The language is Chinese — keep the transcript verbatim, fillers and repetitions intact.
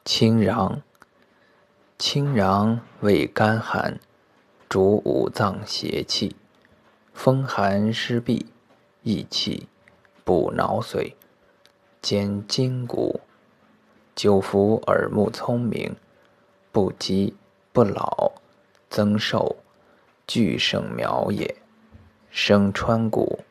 清禳，清禳味甘寒，主五脏邪气，风寒湿痹，益气，补脑髓，兼筋骨，久服耳目聪明，不饥不老，增寿，俱盛苗也。生川谷，